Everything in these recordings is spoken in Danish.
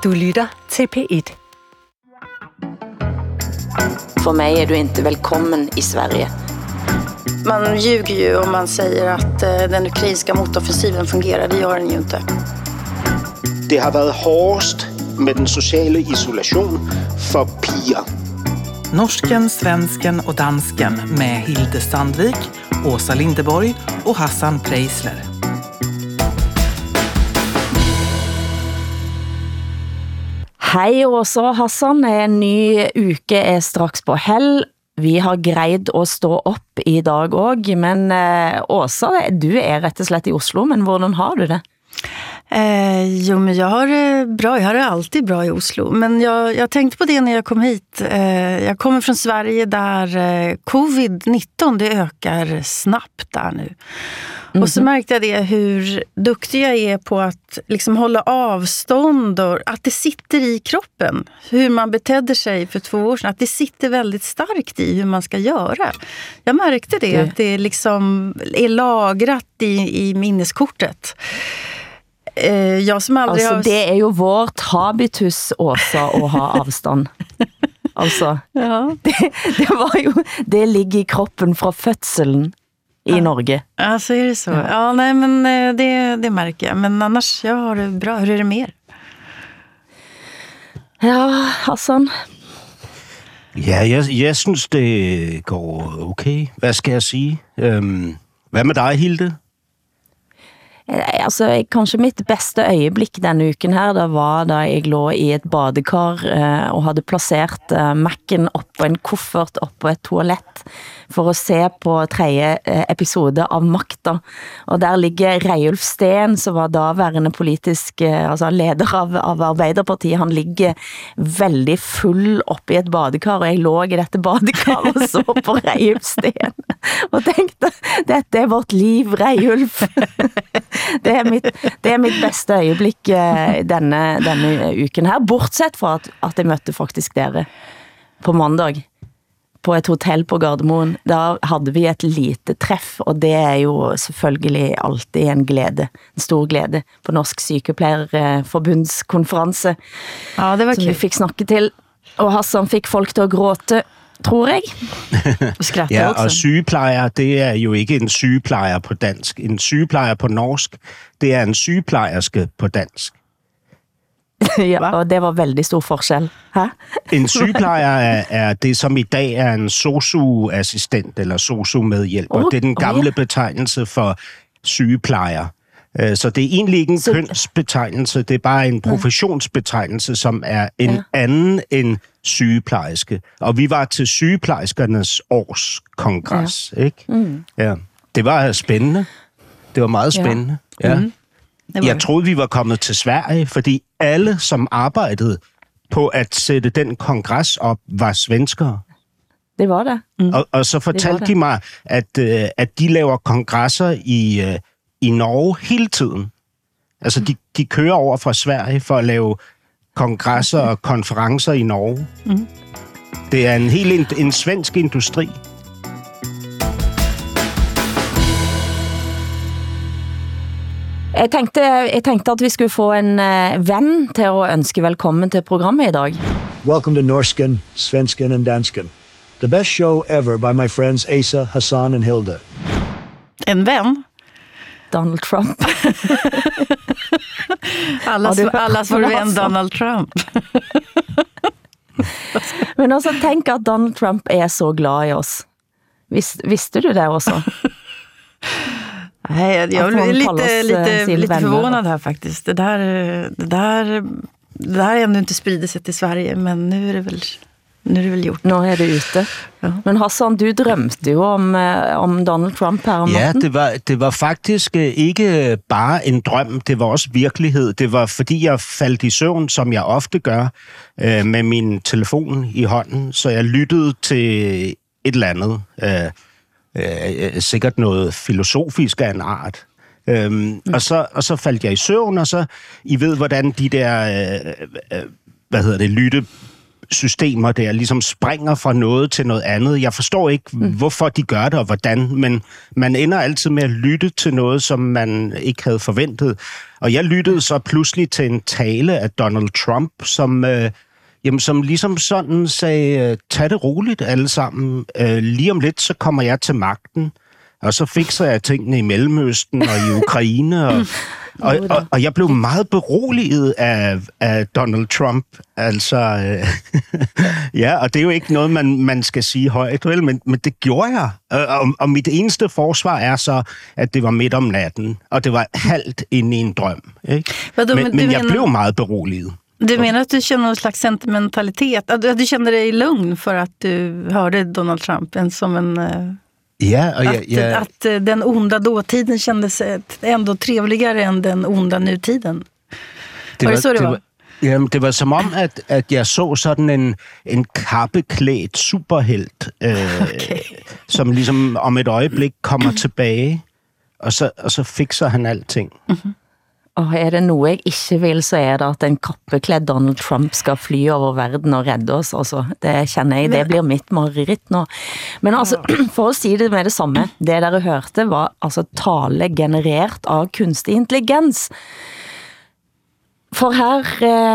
Du lytter til P1. For mig er du inte välkommen i Sverige. Man ljuger ju om man säger att den ukrainska motoffensiven fungerar. Det gör den ju inte. Det har været hårdest med den sociale isolation for piger. Norsken, svensken och dansken med Hilde Sandvik, Åsa Lindeborg och Hassan Preisler. Hej Åsa og Hassan, en ny uke er straks på hell. Vi har greid å stå opp i dag også, men Åsa, du er rett og slett i Oslo, men hvordan har du det? Jo, men jag har det bra. Jag har det alltid bra i Oslo. Men jag tänkte på det när jag kom hit. Jag kommer från Sverige där covid-19 det ökar snabbt där nu. Och så märkte jag det hur duktig jag är på att liksom hålla avstånd och att det sitter i kroppen. Hur man betedde sig för 2 år sedan. Att det sitter väldigt starkt i hur man ska göra. Jag märkte det, att det liksom är lagrat i minneskortet. Jag som aldrig altså, har... det er jo vårt habitus, Åsa, å ha avstand. Altså, ja. det var jo, det ligger i kroppen fra fødselen i Norge. Ja, så är det så. Ja, nej, men det märker jag. Men annars, jag har det bra. Hur är det mer? Ja, Hassan. Ja, jeg synes, det går okay. Hvad skal jeg sige? Hvad med dig, Hilde? Altså, kanskje mitt beste øjeblikk denne uken her, det var da jeg lå i et badekar og hadde plassert Mac'en oppå en kuffert oppå et toalett for å se på 3. episode av Makta. Og der ligger Reiulf Steen, som var daværende politisk altså leder av Arbeiderpartiet. Han ligger veldig full oppe i et badekar, og jeg lå i dette badekar og så på Reiulf Steen og tenkte, dette er vårt liv, Reiulf. Det er mitt beste øjeblikk denne uken her, bortsett fra at jeg møtte faktisk dere på mandag på et hotell på Gardermoen. Da hadde vi et lite treff, og det er jo selvfølgelig alltid en glede, en stor glede på Norsk Sykepleierforbundskonferanse. Ja, det var som vi fikk snakke til, og Hassan fikk folk til å gråte, tror jeg. Ja, og sygeplejer, det er jo ikke en sygeplejer på dansk. En sygeplejer på norsk, det er en sygeplejerske på dansk. Ja, og det var veldig stor forskjell. Hæ? En sygeplejer er det, som i dag er en sosu-assistent eller sosu-medhjælper. Det er den gamle betegnelse for sygeplejer. Så det er egentlig ikke en kønsbetegnelse, det er bare en professionsbetegnelse, som er en anden end sygeplejerske. Og vi var til sygeplejerskernes årskongres, ikke? Ja. Det var spændende. Det var meget spændende. Ja. Jeg troede, vi var kommet til Sverige, fordi alle, som arbejdede på at sætte den kongres op, var svenskere. Det var det. Og så fortalte de mig, at de laver kongresser i Norge hele tiden. Altså, de kører over fra Sverige for at lave kongresser og konferencer i Norge. Det er en svensk industri. Jeg tenkte at vi skulle få en venn til å ønske velkommen til programmet i dag. Welcome to Norsken, Svensken and Dansken. The best show ever by my friends Asa, Hassan and Hilde. En vän? Donald Trump. Allas vår vän Donald Trump. Men også tenk at Donald Trump er så glad i oss. Visste du det også? Nej, jag är lite förvånad här faktiskt. Det där är ändå inte sprider sig till Sverige, men nu är det väl gjort. Nå er det ute. Ja. Men Hassan, du drømte jo om Donald Trump her om natten. Ja, det var faktisk ikke bare en drøm, det var også virkelighed. Det var fordi jeg faldt i søvn, som jeg ofte gør, med min telefon i hånden, så jeg lyttede til et eller andet, sikkert noget filosofisk af en art. Og så faldt jeg i søvn, og så, I ved, hvordan de der, systemer der ligesom springer fra noget til noget andet. Jeg forstår ikke, hvorfor de gør det og hvordan, men man ender altid med at lytte til noget, som man ikke havde forventet. Og jeg lyttede så pludselig til en tale af Donald Trump, som ligesom sådan sagde, tag det roligt alle sammen. Lige om lidt, så kommer jeg til magten, og så fikser jeg tingene i Mellemøsten og i Ukraine, og jeg blev meget beroliget af Donald Trump. Altså, ja, og det er jo ikke noget, man skal sige højt, vel? Men det gjorde jeg. Og mit eneste forsvar er så, at det var midt om natten, og det var halvt inde i en drøm. Ikke? Men jeg blev meget beroliget. Du menar att du känner någon slags sentimentalitet? Att du kände dig lugn för att du hörde Donald Trump som en... Ja, og att den onda dåtiden kändes ändå trevligere end den onda nutiden. Det var som om, at jeg så sådan en kappeklædt superhelt, som ligesom om et øjeblik kommer tilbage, og så fikser han alting. Mm-hmm. Og det noe jeg ikke vil, så det at en kappekledd Donald Trump skal fly over verden og redde oss. Altså, det kjenner jeg, det blir mitt mareritt nå. Men altså, for å si det med det samme, det dere hørte var altså tale generert av kunstig intelligens. For her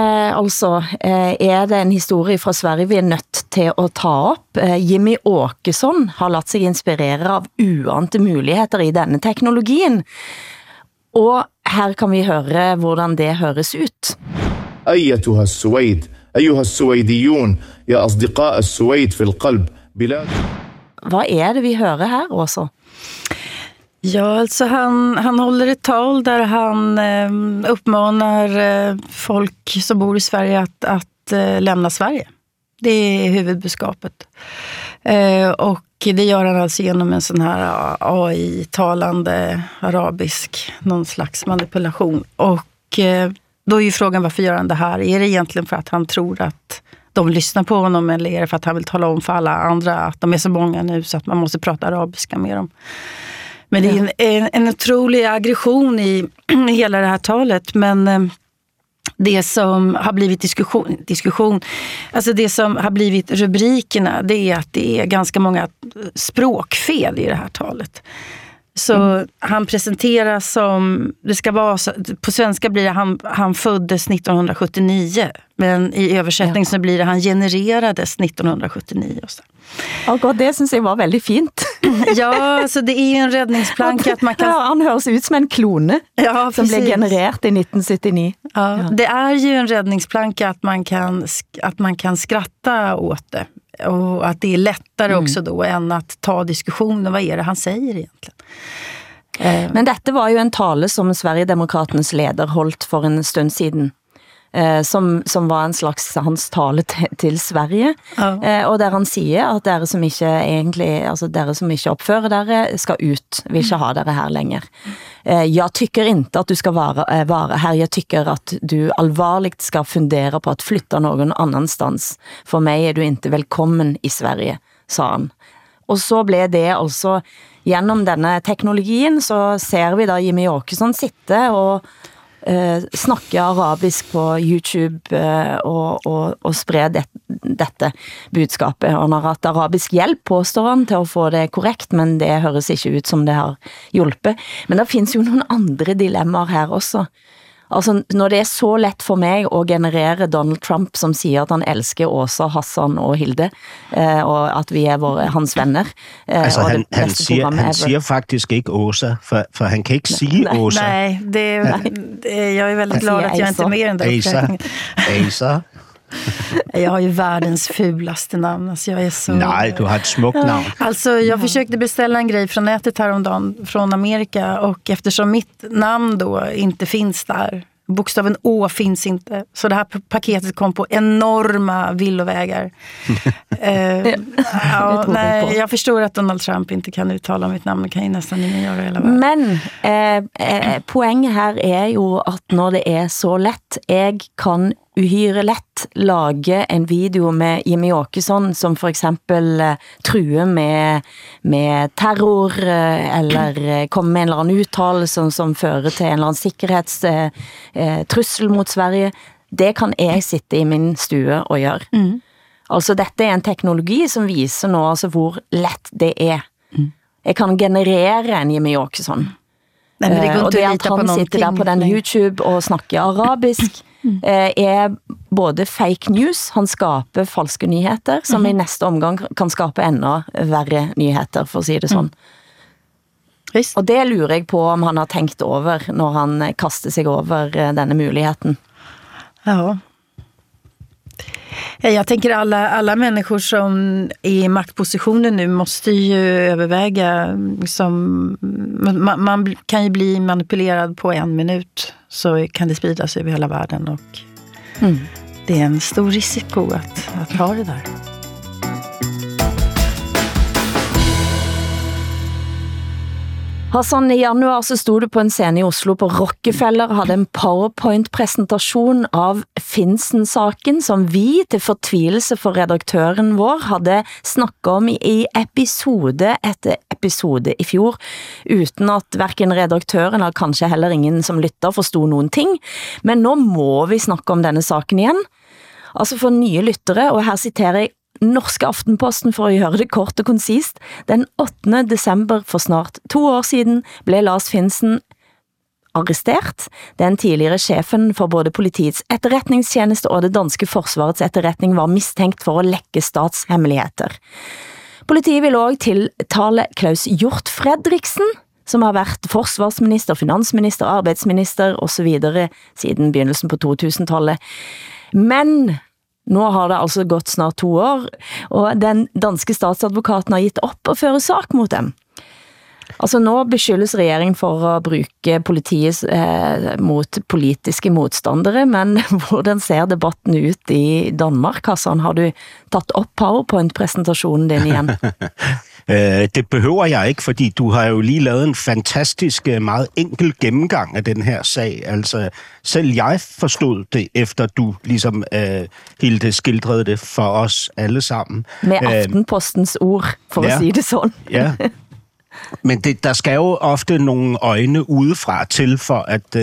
det en historie fra Sverige vi nødt til å ta opp. Jimmy Åkesson har latt seg inspirere av uante muligheter i denne teknologien. Og her kan vi høre hvordan det høres ut. أيتها السويد أيها السويديون يا أصدقاء السويد في القلب بلاد. Hva det vi hører her også? Ja, alltså han håller ett tal där han uppmanar folk som bor i Sverige att lämna Sverige. Det är huvudbudskapet. Och det gör han alltså genom en sån här AI-talande arabisk, någon slags manipulation. Och då är ju frågan, varför gör han det här? Är det egentligen för att han tror att de lyssnar på honom, eller är det för att han vill tala om för alla andra att de är så många nu så att man måste prata arabiska med dem? Men det är en otrolig aggression i hela det här talet, men det som har blivit diskussion, alltså det som har blivit rubrikerna, det är att det är ganska många språkfel i det här talet. Så han presenteras som, det ska vara så, på svenska blir det han föddes 1979, men i översättning så blir det han genererades 1979 och så. God, det synes jeg var veldig fint. Ja, så det är ju en räddningsplanka att man kan... Ja, han høres ut som en klone som blev generert i 1979. Ja, det är ju en räddningsplanka att man kan skratta åt det. Och att det är lättare också då än att ta diskussionen. Vad är det han säger egentligen? Men dette var jo en tale som Sverigedemokraternes leder holdt for en stund siden. Som var en slags hans tale til Sverige, og der han sier at dere som ikke egentlig, altså dere som ikke oppfører dere skal ut, vil ikke ha dere her lenger. Jeg tycker inte att du ska vara här, jag tycker att du allvarligt ska fundera på att flytta någon annanstans. For mig du inte velkommen i Sverige, sa han. Og så blev det altså, gjennom denne teknologien, så ser vi da Jimmy Åkesson sitte og snakke arabisk på YouTube og spre dette budskapet. Han har hatt arabisk hjelp, påstår han, til å få det korrekt, men det høres ikke ut som det har hjulpet. Men det finns jo noen andre dilemmaer her også. Altså, når det så lett for meg å generere Donald Trump som sier at han elsker Åsa, Hassan og Hilde, og at vi hans venner. Altså, han siger faktisk ikke Åsa, for han kan ikke sige Åsa. Nej, jag är väldigt glad att jag inte är med i den där uppräkningen. Asa. Jag har ju världens fulaste namn. Alltså jag är så... Nej, du har ett smukt namn. Alltså jag försökte beställa en grej från nätet häromdagen från Amerika, och eftersom mitt namn då inte finns där, bokstaven Å finns inte, så det här paketet kom på enorma villovägar. Nej, jag förstår att Donald Trump inte kan uttala mitt namn, kan ju nästan ingen göra hela världen. Men poenget her er jo at når det er så lett, jeg kan uhyre lett lage en video med Jimmy Åkesson som for eksempel truer med terror, eller kommer med en eller annen uttalelse som fører til en eller annen sikkerhetstrussel mot Sverige. Det kan jeg sitte i min stue og gjøre. Altså dette en teknologi som viser nå altså hvor lett det Jeg kan generere en Jimmy Åkesson. Nej, men det går og det at han sitter der på den YouTube og snakker arabisk både fake news, han skaper falske nyheter, som i næste omgang kan skape enda verre nyheter, for at sige det sådan. Og det lurer jeg på, om han har tænkt over, når han kaster sig over denne muligheten. Ja. Jag tänker alla människor som är i maktpositioner nu måste ju överväga man kan ju bli manipulerad på 1 minut så kan det spridas över hela världen och det är en stor risiko att ha det där. Hassan, i januar så stod du på en scene i Oslo på Rockefeller og hadde en PowerPoint-presentasjon av Finsen-saken, som vi til fortvilelse for redaktøren vår hadde snakket om i episode etter episode i fjor, uten at hverken redaktøren eller kanskje heller ingen som lytter forstod noen ting. Men nå må vi snakke om denne saken igjen. Altså for nye lyttere, og her citerer jeg Norske Aftenposten for å gjøre det kort og konsist. Den 8. desember for snart 2 år siden ble Lars Finsen arrestert. Den tidligere sjefen for både politiets etterretningstjeneste og det danske forsvarets etterretning var mistænkt for å lekke statshemmeligheter. Politiet vil også tiltale Klaus Hjort Fredriksen, som har vært forsvarsminister, finansminister, arbeidsminister og så videre siden begynnelsen på 2000-tallet. Men nå har det altså gått snart 2 år, og den danske statsadvokaten har gitt opp å føre sak mot dem. Altså nå beskyldes regjeringen for å bruke politiet mot politiske motstandere, men hvordan ser debatten ut i Danmark, Hassan? Har du tatt opp PowerPoint-presentasjonen din igjen? Det behøver jeg ikke, fordi du har jo lige lavet en fantastisk, meget enkel gennemgang af den her sag. Altså, selv jeg forstod det, efter du ligesom Hilde skildrede det for os alle sammen. Med Aftenpostens ord, for at sige det sådan. Ja. Men der skal jo ofte nogle øjne udefra til, for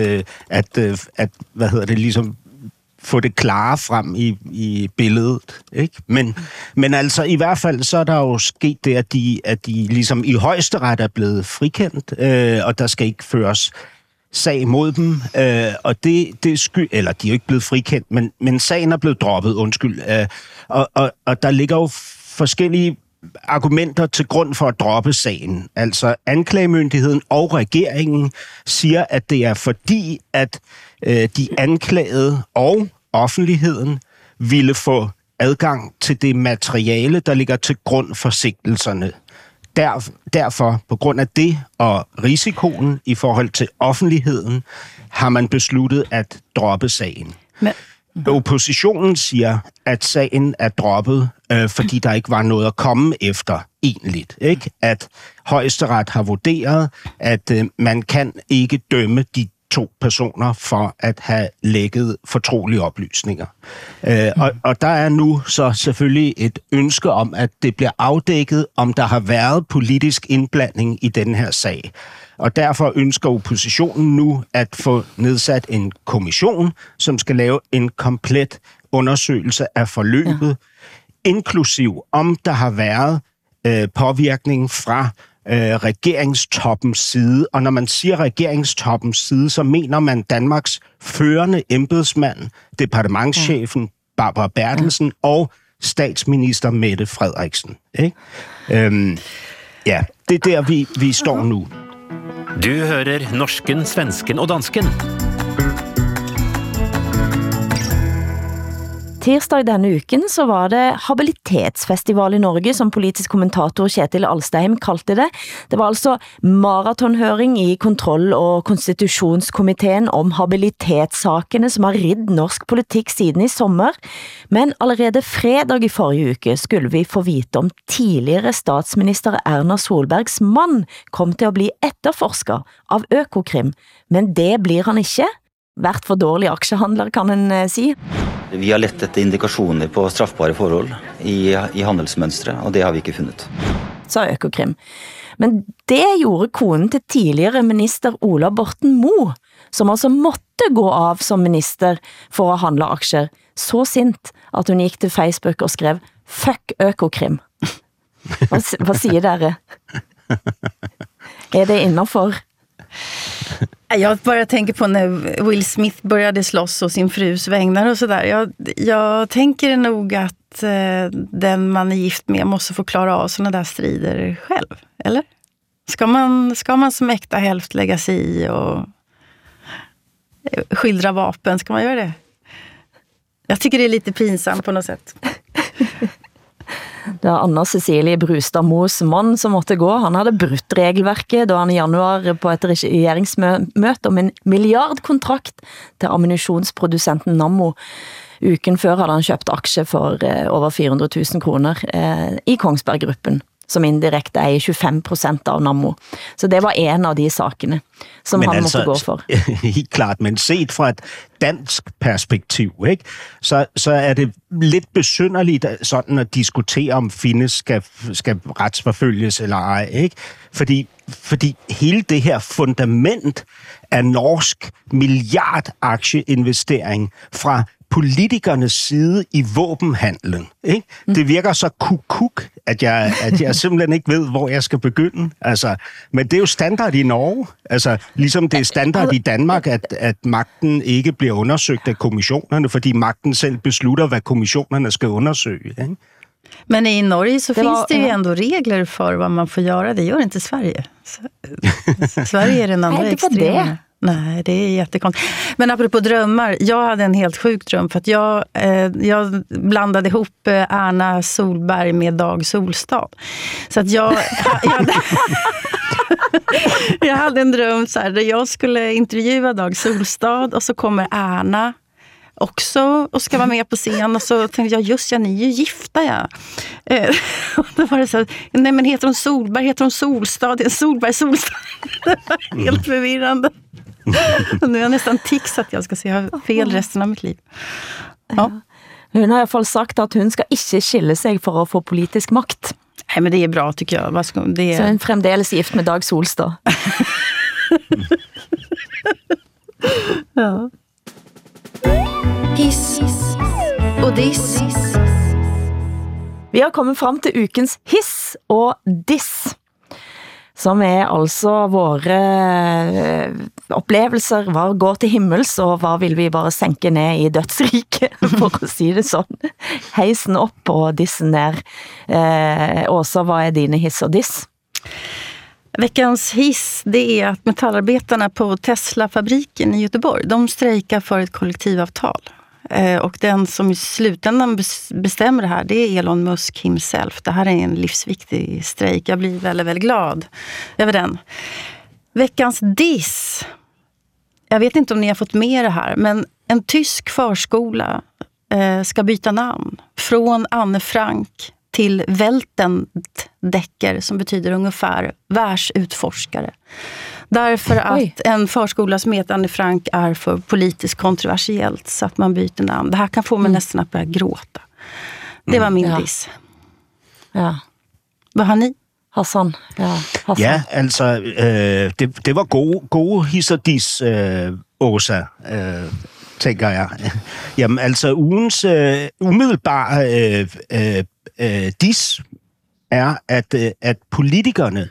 at hvad hedder det, ligesom få det klare frem i billedet, ikke? Men altså i hvert fald så er der jo sket det, at de ligesom i højesteret er blevet frikendt, og der skal ikke føres sag mod dem, og det eller de er jo ikke blevet frikendt, men sagen er blevet droppet, undskyld. Og der ligger jo forskellige argumenter til grund for at droppe sagen. Altså anklagemyndigheden og regeringen siger, at det er fordi, at de anklagede og offentligheden ville få adgang til det materiale, der ligger til grund for sigtelserne. Derfor, på grund af det og risikoen i forhold til offentligheden, har man besluttet at droppe sagen. Oppositionen siger, at sagen er droppet, fordi der ikke var noget at komme efter egentligt. Ikke? At højesteret har vurderet, at man kan ikke dømme de 2 personer for at have lækket fortrolige oplysninger. Og der er nu så selvfølgelig et ønske om, at det bliver afdækket, om der har været politisk indblanding i den her sag. Og derfor ønsker oppositionen nu at få nedsat en kommission, som skal lave en komplet undersøgelse af forløbet, inklusiv om der har været påvirkning fra regeringstoppens side. Og når man siger regeringstoppens side, så mener man Danmarks førende embedsmand, departementschefen Barbara Bertelsen og statsminister Mette Frederiksen. Ikke? Ja, det er der, vi står nu. Du hører norsken, svensken og dansken. Tirsdag denne uken så var det habilitetsfestival i Norge, som politisk kommentator Kjetil Alstheim kaldte det. Det var altså maratonhøring i kontroll- og konstitutionskomiteen om habilitetssakene som har ridd norsk politikk siden i sommer. Men allerede fredag i forrige uke skulle vi få vite om tidligere statsminister Erna Solbergs mann kom til å bli etterforsker av Økokrim. Men det blir han ikke. Vært for dårlig aksjehandler, kan en si. Vi har lett etter indikasjoner på straffbare forhold i handelsmønstre, og det har vi ikke funnet. Sa Økokrim. Men det gjorde konen til tidligere minister Ola Borten Moe, som altså måtte gå av som minister for å handle aksjer, så sint at hun gikk til Facebook og skrev Fuck Økokrim. Vad säger dere? Är det innanför? Jag bara tänker på när Will Smith började slåss och sin frus vägnar och sådär. Jag tänker nog att den man är gift med måste få klara av såna där strider själv, eller? Ska man som äkta hälft lägga sig i och skildra vapen? Ska man göra det? Jag tycker det är lite pinsamt på något sätt. Det var Anna Cecilie Brustad Moes man som måtte gå. Han hade brutt regelverket då han i januar på ett regeringsmøte om en miljardkontrakt til ammunitionsproducenten Nammo. Uken før hade han köpt aktier for over 400 000 kroner i Kongsberg-gruppen, som indirekte er 25% av Nammo. Så det var en av de sakene, som men han måtte gå for. Helt klart, men set fra et dansk perspektiv, ikke? Så er det lidt besynderligt sådan at diskutere, om Finne skal retsforfølges eller ej, ikke? Fordi hele det her fundament af norsk milliardaktieinvestering fra politikernes side i våbenhandlen, ikke? Det virker så kuk, at jeg simpelthen ikke ved, hvor jeg skal begynde. Altså, men det er jo standard i Norge. Altså, ligesom det er standard i Danmark, at magten ikke bliver undersøgt af kommissionerne, fordi magten selv beslutter, hvad kommissionerne skal undersøge, ikke? Men i Norge så finns det ju ändå regler för vad man får göra. Det gör inte Sverige. Sverige är den andra extremen. Nej, det är jättekonstigt. Men apropå drömmar, jag hade en helt sjuk dröm för att jag blandade ihop Erna Solberg med Dag Solstad. Så att jag hade en dröm så här, där jag skulle intervjua Dag Solstad och så kommer Erna också och ska vara med på scen och så tänkte jag, just ja, ni är ju gifta, ja. Och då var det så här, nej men heter hon Solberg, heter hon Solstad, det är Solberg, Solstad. Det var helt förvirrande. Och nu är jag nästan tics att jag ska se fel resten av mitt liv. Ja. Hun har i alla fall sagt att hun ska inte skille sig för att få politisk makt. Nej, men det är bra tycker jag. Så hun fremdeles gift med Dag Solstad. Ja. Hiss och diss. Vi har kommet frem til ukens hiss og diss, som er altså våre oplevelser, hva går til himmels, og hva vil vi bare sænke ned i dødsriket, for å si det sånn. Heisen opp og dissen ned. Åsa, vad är dine hiss och diss? Veckans hiss, det är att metallarbetarna på Tesla-fabriken i Göteborg, de strejkar för ett kollektivavtal. Och den som i slutändan bestämmer det här, det är Elon Musk himself. Det här är en livsviktig strejk. Jag blir väldigt, väldigt glad över den. Veckans diss. Jag vet inte om ni har fått med det här, men en tysk förskola ska byta namn från Anne Frank till Weltendecker, som betyder ungefär världsutforskare. Därför att en förskola som heter Anne Frank är för politiskt kontroversiellt, så att man byter namn. Det här kan få mig nästan att börja gråta. Det var min diss. Ja. Vad har ni? Hassan. Ja, altså, det var gode hiss og diss, Åsa, tænker jeg. Jamen, altså, ugens umiddelbare diss er, at politikerne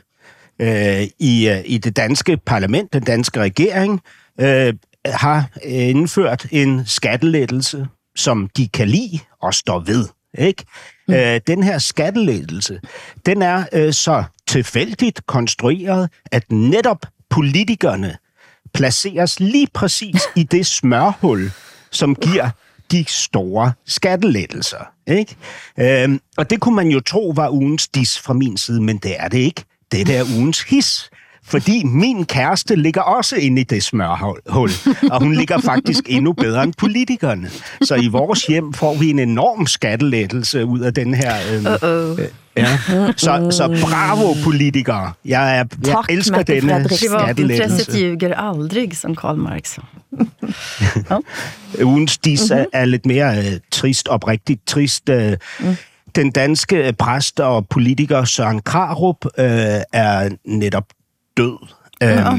i det danske parlament, den danske regering, har indført en skattelettelse, som de kan lide og står ved. Ikke? Den her skattelettelse, den er så tilfældigt konstrueret, at netop politikerne placeres lige præcis i det smørhul, som giver de store skattelettelser. Ikke? Og det kunne man jo tro var ugens diss fra min side, men det er det ikke. Det er ugens hiss. Fordi min kæreste ligger også inde i det smørhul, og hun ligger faktisk endnu bedre end politikerne. Så i vores hjem får vi en enorm skattelettelse ud af den her... Ja. Så bravo, politikere. Jeg elsker denne skattelettelse. Intresset ljuger aldrig, som Karl Marx. Ja. Ugens diss er lidt mere trist, oprigtigt trist. Den danske præst og politiker Søren Krarup er netop død.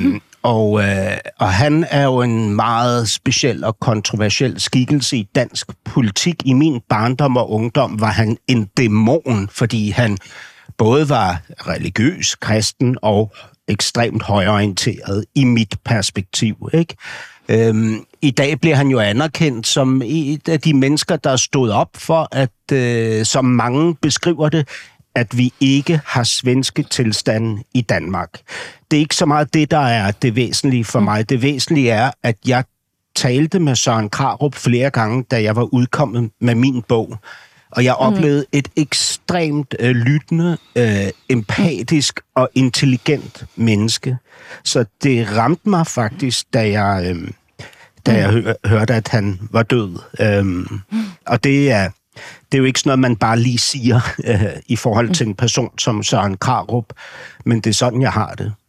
Og han er jo en meget speciel og kontroversiel skikkelse i dansk politik. I min barndom og ungdom var han en dæmon, fordi han både var religiøs, kristen og ekstremt højorienteret i mit perspektiv, ikke? I dag bliver han jo anerkendt som et af de mennesker, der stod op for, at som mange beskriver det, at vi ikke har svenske tilstande i Danmark. Det er ikke så meget det, der er det væsentlige for mig. Det væsentlige er, at jeg talte med Søren Krarup flere gange, da jeg var udkommet med min bog. Og jeg oplevede et ekstremt lyttende, empatisk og intelligent menneske. Så det ramte mig faktisk, da jeg hørte, at han var død. Og det er jo ikke sådan noget, man bare lige siger i forhold til en person som Søren Krarup, men det er sådan, jeg har det.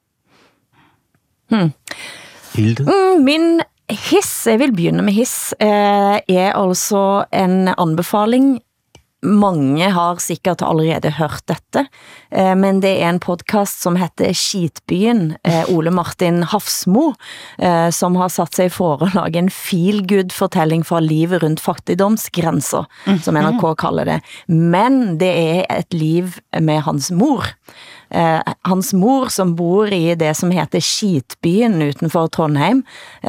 Hilde? Min hiss, jeg vil begynne med hiss, er altså en anbefaling. Mange har sikkert allerede hørt dette, men det er en podcast som heter Skitbyen, Ole Martin Hafsmo, som har satt sig for at lage en feel-good-fortelling fra livet rundt fattigdomsgrænser, som NRK kalder det. Men det er et liv med hans mor. Hans mor som bor i det som heter Skitbyen utenfor Trondheim,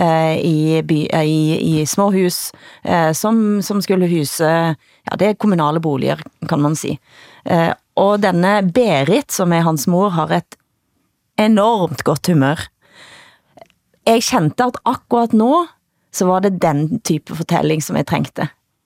i små hus som skulle huse, ja, det er kommunale boliger, kan man si. Og denne Berit, som er hans mor, har et enormt godt humør. Jeg kjente at akkurat nå, så var det den type fortelling som jeg trengte.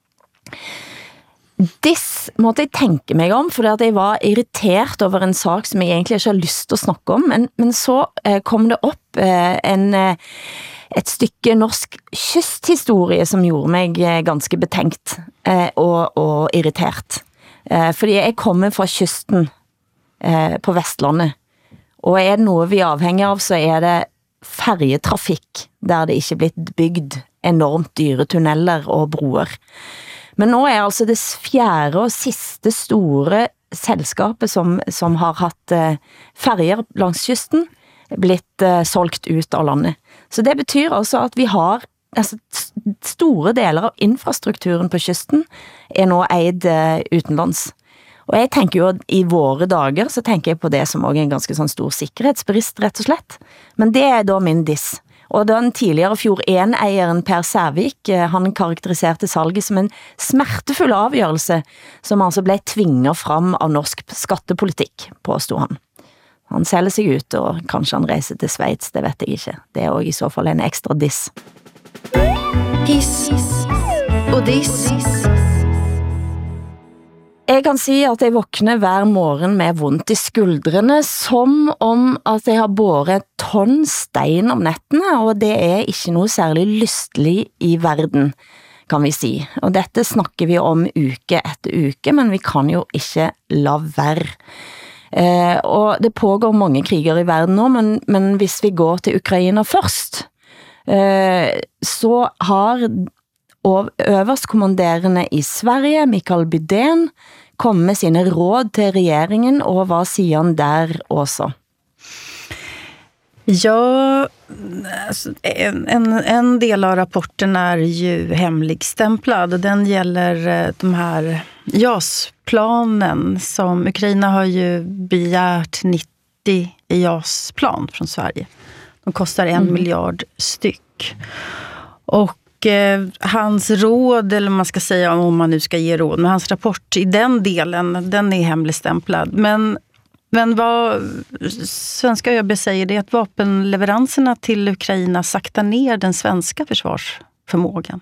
Diss måtte jeg tænke mig om, fordi at jeg var irritert over en sak, som jeg egentlig ikke har lyst til at snakke om, men så kom det op et stykke norsk kysthistorie, som gjorde mig ganske betænkt og irritert. Fordi jeg kommer fra kysten på Vestlandet, og er det noget vi er afhængig av, så er det färjetrafik, der det ikke er blitt bygd enormt dyre tunneller og broer. Men nå er altså det fjerde og siste store selskapet, som har hatt färger langs kysten, blitt solgt ut av landet. Så det betyr altså at vi har store deler av infrastrukturen på kysten er nå eid utenlands. Og jeg tenker jo at i våre dager så tenker jeg på det som også en ganske sånn stor sikkerhetsbrist, rett og slett. Men det er da min diss. Og den tidligere Fjord 1-eieren Per Sævik, han karakteriserte salget som en smertefull avgjørelse, som altså ble tvinget fram av norsk skattepolitikk, påstod han. Han sælger sig ut, og kanskje han reiser til Schweiz, det vet jeg ikke. Det er også i så fall en ekstra diss. Hiss og diss. Jeg kan si at jeg våkner hver morgen med vondt i skuldrene, som om at jeg har båret et tonn stein om nettene, og det er ikke noe særlig lystelig i verden, kan vi si. Og dette snakker vi om uke etter uke, men vi kan jo ikke la være. Og det pågår mange kriger i verden nå, men hvis vi går til Ukraina først, så har øverstkommanderende i Sverige, Mikael Bydén, kom med sine råd til regeringen, og hvad siger han der også? Ja, alltså, en del av rapporten är ju hemligstämplad. Den gäller de här JAS-planen som Ukraina har ju begärt 90 JAS-plan från Sverige. De kostar 1 miljard styck. Och hans råd, eller man ska säga om man nu ska ge råd, men hans rapport i den delen, den är hemligstämplad. Men vad svenska ÖB säger det är att vapenleveranserna till Ukraina saktar ner den svenska försvarsförmågan.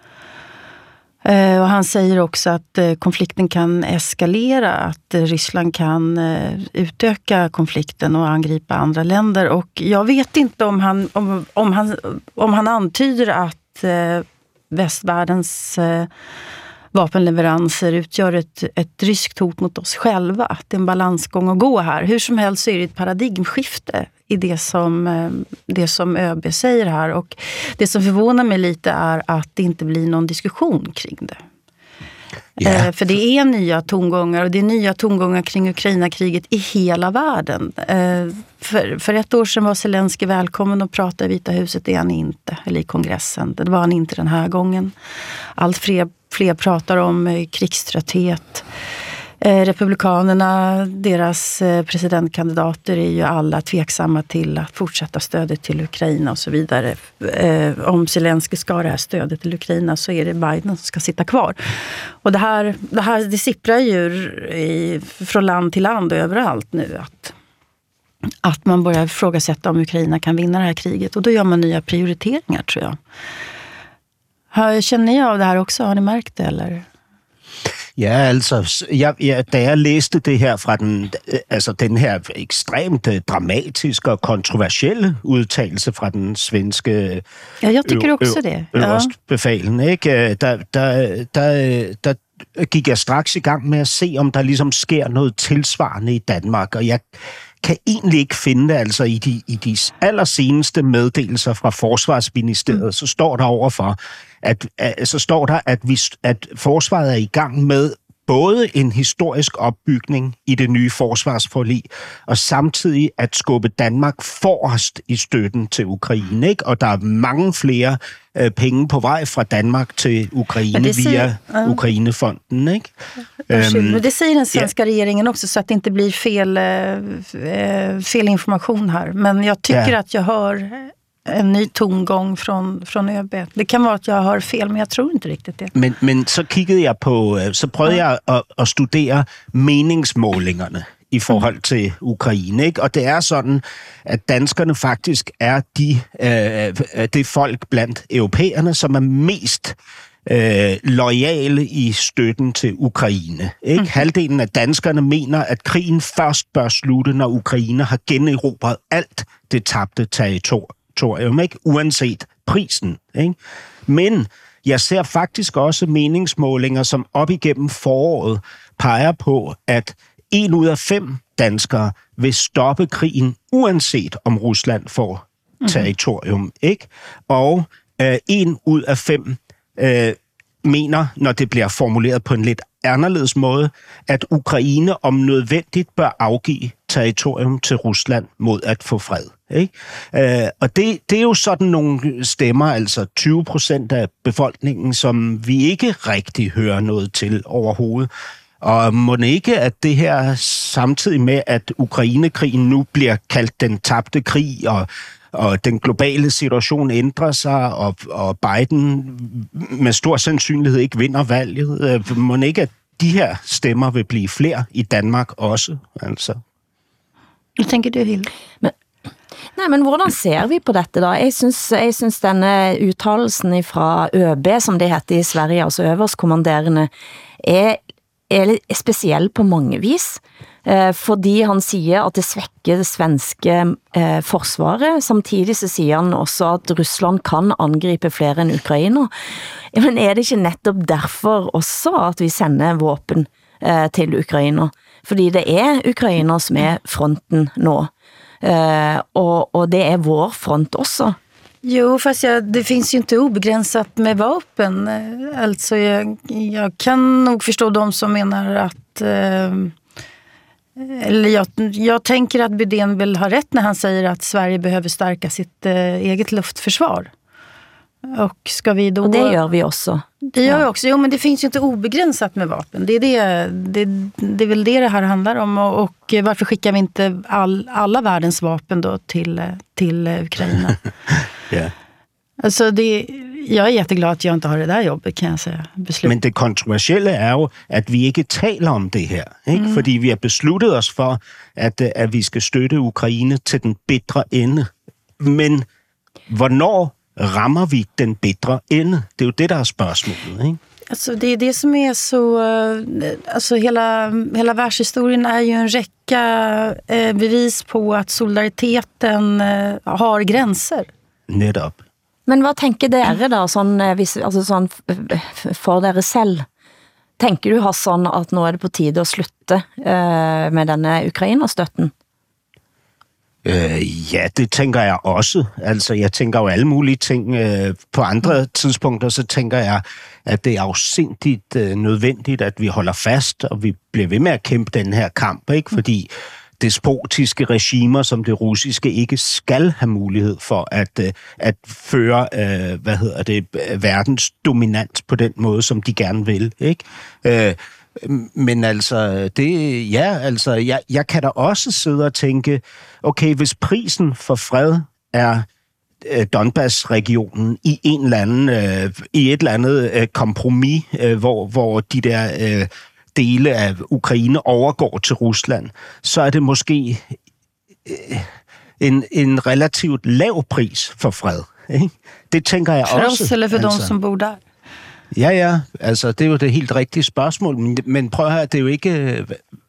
Och han säger också att konflikten kan eskalera, att Ryssland kan utöka konflikten och angripa andra länder. Och jag vet inte om han antyder att västvärldens vapenleveranser utgör ett ryskt hot mot oss själva. Att det är en balansgång att gå här. Hur som helst så är det ett paradigmskifte i det som ÖB säger här. Och det som förvånar mig lite är att det inte blir någon diskussion kring det. Yeah. För det är nya tongångar och det är nya tongångar kring Ukraina-kriget i hela världen. För ett år sedan var Zelensky välkommen att prata i Vita huset, det är han inte, eller i kongressen. Det var han inte den här gången. Allt fler pratar om krigströtthet. Republikanerna, deras presidentkandidater är ju alla tveksamma till att fortsätta stödet till Ukraina och så vidare. Om Zelensky ska ha det här stödet till Ukraina så är det Biden som ska sitta kvar. Och det sipprar ju från land till land och överallt nu att man börjar ifrågasätta om Ukraina kan vinna det här kriget. Och då gör man nya prioriteringar, tror jag. Känner ni av det här också? Har ni märkt det, eller? Ja, altså, da jeg læste det her fra den her ekstremt dramatiske og kontroversielle udtalelse fra den svenske øverstbefalen, ikke? Der gik jeg straks i gang med at se, om der ligesom sker noget tilsvarende i Danmark, og jeg kan egentlig ikke finde det, altså i de allerseneste meddelelser fra Forsvarsministeriet, så står der overfor, at forsvaret er i gang med både en historisk opbygning i det nye forsvarsforlig, og samtidig at skubbe Danmark forrest i støtten til Ukraine, ikke? Og der er mange flere penge på vej fra Danmark til Ukraine via Ukrainefonden, ikke? Men det säger den svenska regeringen också, så att det inte blir fel information här. Men jag tycker att jag hör en ny tongång från ÖB. Det kan vara att jag hör fel, men jag tror inte riktigt det. Men så kiggede jeg på, så prøvede jeg at studere meningsmålingerne i forhold til Ukraine, ikke? Og det er sådan, at danskerne faktisk er det folk blandt europæerne, som er mest loyale i støtten til Ukraine, ikke? Halvdelen af danskerne mener, at krigen først bør slutte, når Ukraine har generobret alt det tabte territorium, ikke? Uanset prisen, ikke? Men jeg ser faktisk også meningsmålinger, som op igennem foråret peger på, at 1 ud af 5 danskere vil stoppe krigen, uanset om Rusland får territorium, ikke? Og 1 ud af 5 mener, når det bliver formuleret på en lidt anderledes måde, at Ukraine om nødvendigt bør afgive territorium til Rusland mod at få fred, ikke? Og det er jo sådan nogle stemmer, altså 20% af befolkningen, som vi ikke rigtig hører noget til overhovedet. Og må ikke, at det her samtidig med, at Ukrainekrigen nu bliver kaldt den tabte krig, og den globale situation ændrer sig, og Biden med stor sandsynlighed ikke vinder valget. Må ikke, at de her stemmer vil blive flere i Danmark også? Altså. Hvad tænker du, Hilde? Men hvordan ser vi på dette da? Jeg synes denne uttalelsen fra ÖB, som det heter i Sverige, altså øverstkommanderende, er speciell på mange vis, fordi han siger, at det svækker det svenske forsvaret. Samtidig så siger han også, at Rusland kan angribe flere end Ukraina. Men er det ikke netop derfor også, at vi sender våben til Ukraina? Fordi det er Ukraina som er fronten nå. Og det er vår front også. Jo, fast det finns ju inte obegränsat med vapen. Alltså jag kan nog förstå de som menar att eller jag tänker att Bydén vill ha rätt när han säger att Sverige behöver stärka sitt eget luftförsvar. Och ska vi då... Och det gör vi också. Det gör vi också. Jo, men det finns ju inte obegränsat med vapen. Det är väl det här handlar om. Och varför skickar vi inte alla världens vapen då till Ukraina? Ja. Altså, jeg er jätteglad, at jeg ikke har det der jobbet, kan jeg sige. Men det kontroversielle er jo, at vi ikke taler om det her, ikke? Fordi vi har besluttet os for, at vi skal støtte Ukraine til den bitre ende. Men hvornår rammer vi den bitre ende? Det er jo det, der er spørgsmålet, ikke? Alltså det är det som är så, alltså hela världshistorien är ju en räcka bevis på att solidariteten har gränser. Netop. Men hvad tænker dere da, sånn for dere selv? Tænker du, Hassan, at nu er det på tide at slutte med denne Ukraina-støtten? Ja, det tænker jeg også. Altså, jeg tænker jo alle mulige ting. På andre tidspunkter, så tænker jeg, at det er afsindigt nødvendigt, at vi holder fast, og vi bliver ved med at kæmpe den her kamp, ikke? Fordi despotiske regimer som det russiske ikke skal have mulighed for at føre verdens dominans på den måde, som de gerne vil, ikke? Men altså, jeg kan da også sidde og tænke, okay, hvis prisen for fred er Donbass-regionen i et eller andet kompromis, hvor de der dele af Ukraine overgår til Rusland, så er det måske en relativt lav pris for fred. Ikke? Det tænker jeg også. Eller for dem, som bor der. Ja, altså det er jo det helt rigtige spørgsmål, men prøv at høre, det er jo ikke...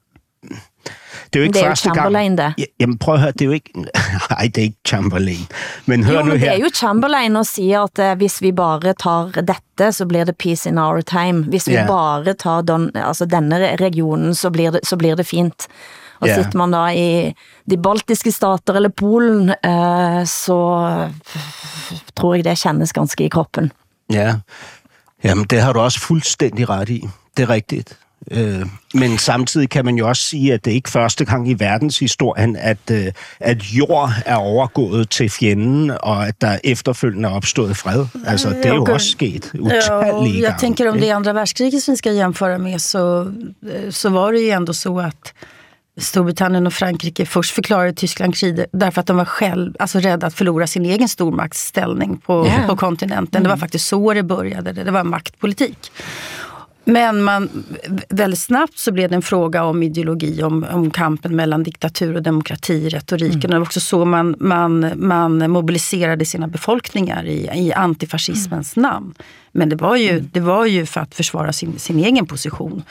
Det er jo ikke første gang. Chamberlain, der. Jamen prøv at høre, det er jo ikke... Nej, det er ikke Chamberlain. Men hør nu her. Det er jo Chamberlain og siger, at hvis vi bare tager dette, så bliver det peace in our time. Hvis vi bare tager denne regionen, så bliver det fint. Og sitter man da i de baltiske stater eller Polen, så tror jeg det kändes ganske i kroppen. Ja, jamen det har du også fuldstændig ret i. Det er rigtigt. Men samtidig kan man jo også sige, at det ikke første gang i verdenshistorien, at jord er overgået til fjenden, og at der efterfølgende er opstået fred. Altså, det er jo også sket utallige gange. Jag tänker om det är andra världskriget som vi ska jämföra med, så var det ju ändå så att Storbritannien och Frankrike först förklarade Tyskland krig därför att de var rädda att förlora sin egen stormaktsställning på kontinenten. Det var faktiskt så det började. Det var maktpolitik. Men väldigt snabbt så blev det en fråga om ideologi, om kampen mellan diktatur och demokrati, retoriken. Det var också så man mobiliserade sina befolkningar i antifascismens namn. Men det var ju för att försvara sin egen position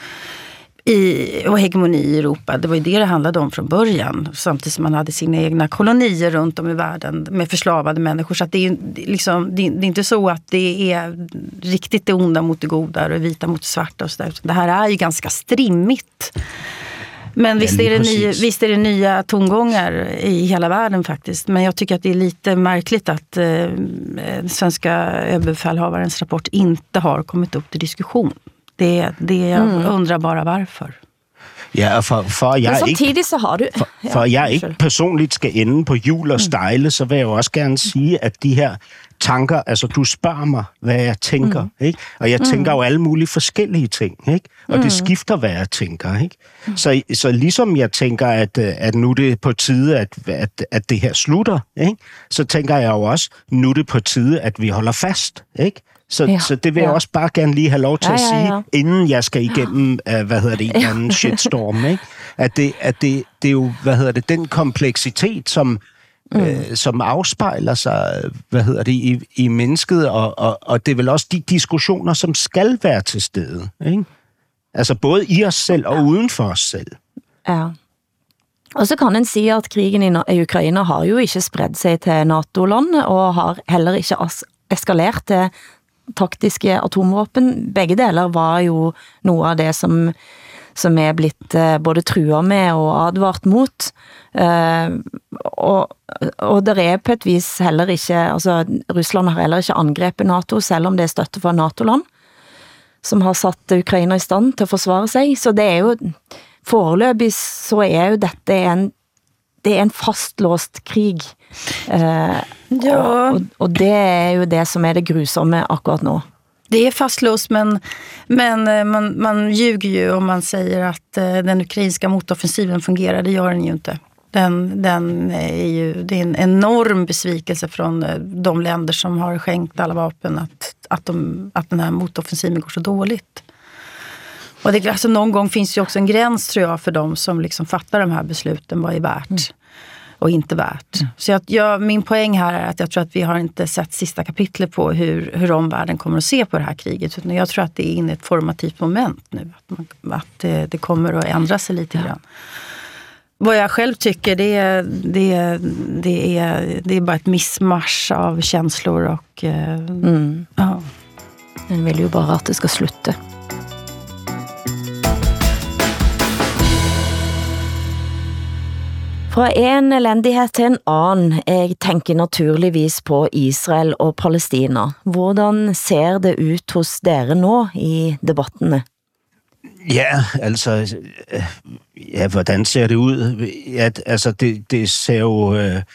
och hegemoni i Europa. Det var ju det handlade om från början. Samtidigt som man hade sina egna kolonier runt om i världen med förslavade människor. Så att det är inte så att det är riktigt det onda mot det goda och det vita mot det svarta och så där. Det här är ju ganska strimmigt. Men visst är det nya tongångar i hela världen faktiskt. Men jag tycker att det är lite märkligt att svenska överbefälhavarens rapport inte har kommit upp till diskussion. Det jag undrar bara varför. Ja, for jeg ikke personligt skal ende på hjul og stejle, så vil jeg jo også gerne sige, at de her tanker, altså du spørger mig, hvad jeg tænker, ikke? Og jeg tænker jo alle mulige forskellige ting, ikke? Og det skifter, hvad jeg tænker, ikke? Så ligesom jeg tænker, at nu det er på tide, at det her slutter, ikke? Så tænker jeg jo også, nu det er på tide, at vi holder fast, ikke? Så det vil jeg også bare gerne lige have lov til at sige, inden jeg skal igennem, en eller anden shitstorm, ikke? At det er jo, den kompleksitet, som afspejler sig, i mennesket, og det er vel også de diskussioner, som skal være til stede, ikke? Altså både i os selv og uden for os selv. Ja. Og så kan en sige, at krigen i Ukraina har jo ikke spredt sig til NATO-land, og har heller ikke eskaleret til taktiske atomvåpen. Begge deler var jo noget af det, som er blitt både truet med og advart mot. Og der er på et vis heller ikke, altså Russland har heller ikke angrebet NATO, selv om det er støtte fra NATO-land, som har satt Ukraina i stand til at forsvare sig. Så det er jo, foreløbig så er jo dette det er en fastlåst krig. Og det er jo det, som er det grusomme akkurat nu. Det är fastlåst, men man ljuger ju om man säger att den ukrainska motoffensiven fungerar. Det gör den ju inte. Det är en enorm besvikelse från de länder som har skänkt alla vapen att den här motoffensiven går så dåligt. Och det, alltså, någon gång finns ju också en gräns, tror jag, för de som liksom fattar de här besluten, vad är värt och inte värt. Så min poäng här är att jag tror att vi har inte sett sista kapitlet på hur omvärlden kommer att se på det här kriget. Utan jag tror att det är inne ett formativt moment nu. Att det kommer att ändra sig lite grann. Vad jag själv tycker, det är bara ett missmarsch av känslor och ja. Den vill ju bara att det ska sluta. Fra Fra en elendighed til en annen, jeg tænker naturligvis på Israel og Palestina. Hvordan ser det ut hos dere nå i debattene? Ja, altså, ja, hvordan ser det ud? Ja, altså, det ser jo...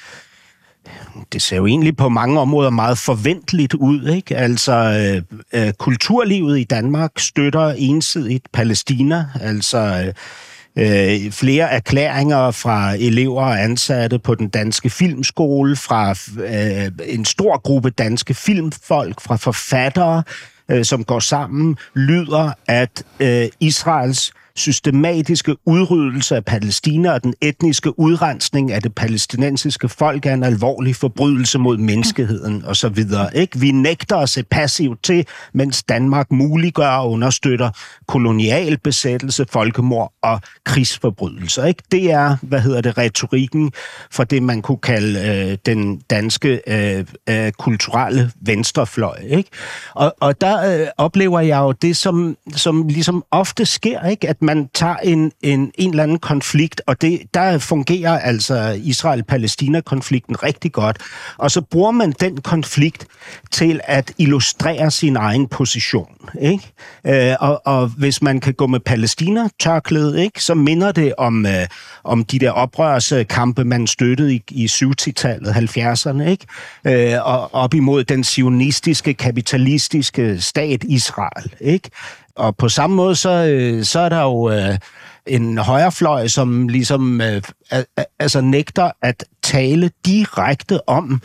Det ser jo egentlig på mange områder meget forventeligt ud, ikke? Altså, kulturlivet i Danmark støtter ensidigt Palæstina, altså flere erklæringer fra elever og ansatte på den danske filmskole, fra en stor gruppe danske filmfolk, fra forfattere, som går sammen, lyder, at Israels systematiske udryddelse af Palæstina og den etniske udrensning af det palæstinensiske folk er en alvorlig forbrydelse mod menneskeheden og så videre. Ikke? Vi nægter at se passivt til, mens Danmark muliggør og understøtter kolonial besættelse, folkemord og krigsforbrydelser. Ikke? Det er, retorikken for det, man kunne kalde den danske kulturelle venstrefløj. Ikke? Og der oplever jeg jo det, som ligesom ofte sker, ikke? At man tager en eller anden konflikt, og der fungerer altså Israel-Palæstina-konflikten rigtig godt, og så bruger man den konflikt til at illustrere sin egen position. Ikke? Og hvis man kan gå med Palæstina-tørklædet, ikke, så minder det om de der oprørskampe, man støttede i 70-tallet, 70'erne, ikke? Og op imod den zionistiske, kapitalistiske stat Israel. Ikke? Og på samme måde, så er der jo en højrefløj, som ligesom altså nægter at tale direkte om,